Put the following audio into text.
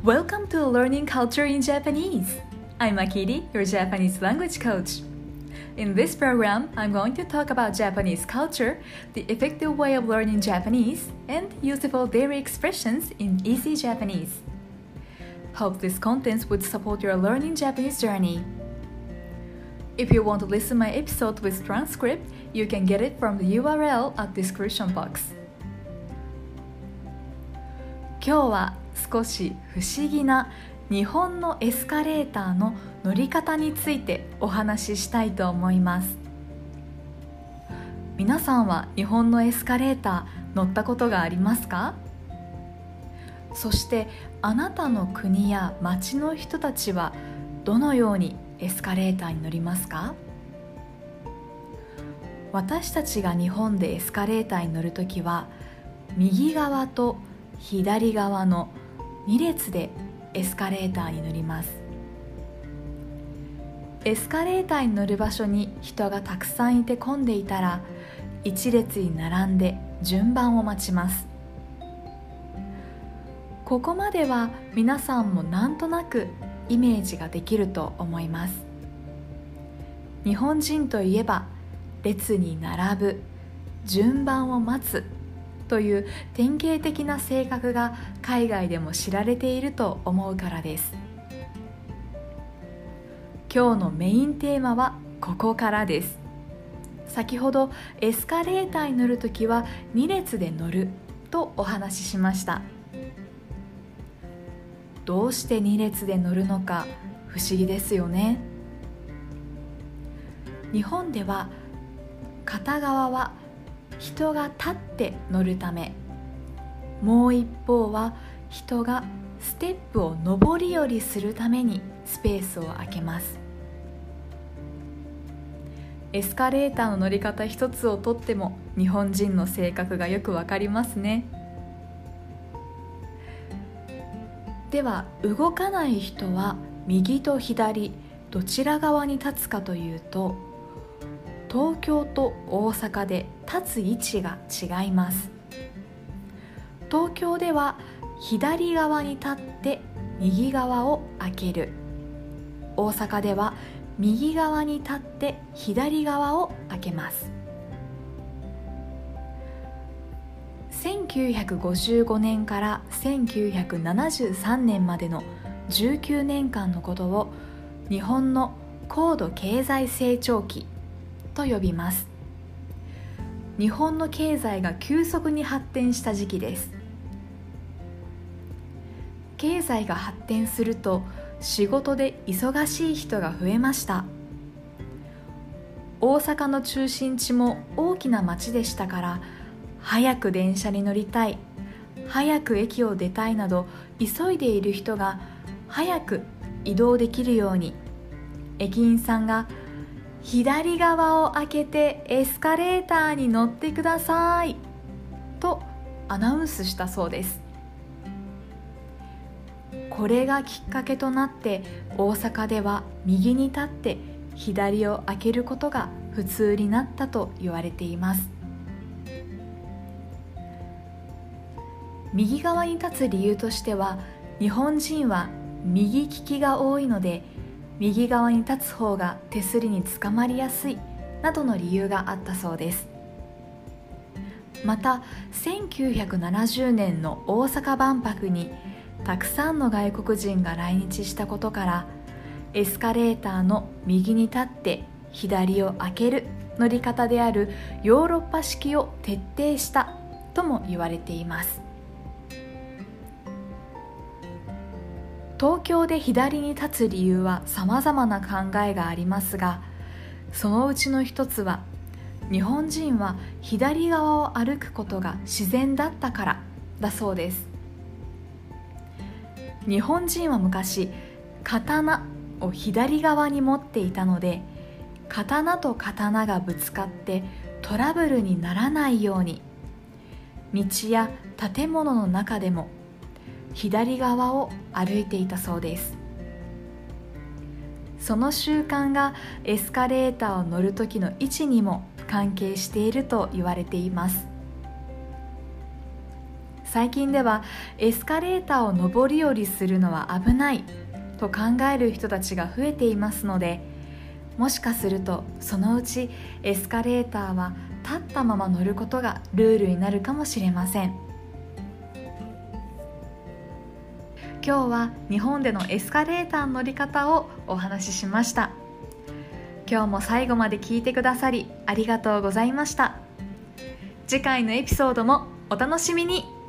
Welcome to Learning Culture in Japanese. I'm Akiri, your Japanese language coach. In this program, I'm going to talk about Japanese culture, the effective way of learning Japanese, and useful daily expressions in easy Japanese. Hope this content would support your learning Japanese journey. If you want to listen my episode with transcript, you can get it from the URL at description box. 今日は少し不思議な日本のエスカレーターの乗り方についてお話ししたいと思います。皆さんは日本のエスカレーター乗ったことがありますか？そしてあなたの国や町の人たちはどのようにエスカレーターに乗りますか？私たちが日本でエスカレーターに乗るときは右側と左側の2列でエスカレーターに乗ります。エスカレーターに乗る場所に人がたくさんいて混んでいたら1列に並んで順番を待ちます。ここまでは皆さんもなんとなくイメージができると思います。日本人といえば列に並ぶ、順番を待つという典型的な性格が海外でも知られていると思うからです。今日のメインテーマはここからです。先ほどエスカレーターに乗るときは2列で乗るとお話ししました。どうして2列で乗るのか不思議ですよね。日本では片側は人が立って乗るため、もう一方は人がステップを上り下りするためにスペースを空けます。エスカレーターの乗り方一つをとっても日本人の性格がよくわかりますね。では動かない人は右と左どちら側に立つかというと、東京と大阪で立つ位置が違います。東京では左側に立って右側を開ける。大阪では右側に立って左側を開けます。1955年から1973年までの19年間のことを日本の高度経済成長期と呼びます。日本の経済が急速に発展した時期です。経済が発展すると仕事で忙しい人が増えました。大阪の中心地も大きな町でしたから、早く電車に乗りたい、早く駅を出たいなど急いでいる人が早く移動できるように、駅員さんが左側を開けてエスカレーターに乗ってくださいとアナウンスしたそうです。これがきっかけとなって大阪では右に立って左を開けることが普通になったと言われています。右側に立つ理由としては、日本人は右利きが多いので右側に立つ方が手すりにつかまりやすいなどの理由があったそうです。また1970年の大阪万博にたくさんの外国人が来日したことから、エスカレーターの右に立って左を開ける乗り方であるヨーロッパ式を徹底したとも言われています。東京で左に立つ理由は様々な考えがありますが、そのうちの一つは日本人は左側を歩くことが自然だったからだそうです。日本人は昔刀を左側に持っていたので、刀と刀がぶつかってトラブルにならないように、道や建物の中でも左側を歩いていたそうです。その習慣がエスカレーターを乗る時の位置にも関係していると言われています。 最近ではエスカレーターを上り下りするのは危ないと考える人たちが増えていますので、もしかするとそのうちエスカレーターは立ったまま乗ることがルールになるかもしれません。今日は日本でのエスカレーターの乗り方をお話ししました。今日も最後まで聞いてくださりありがとうございました。次回のエピソードもお楽しみに。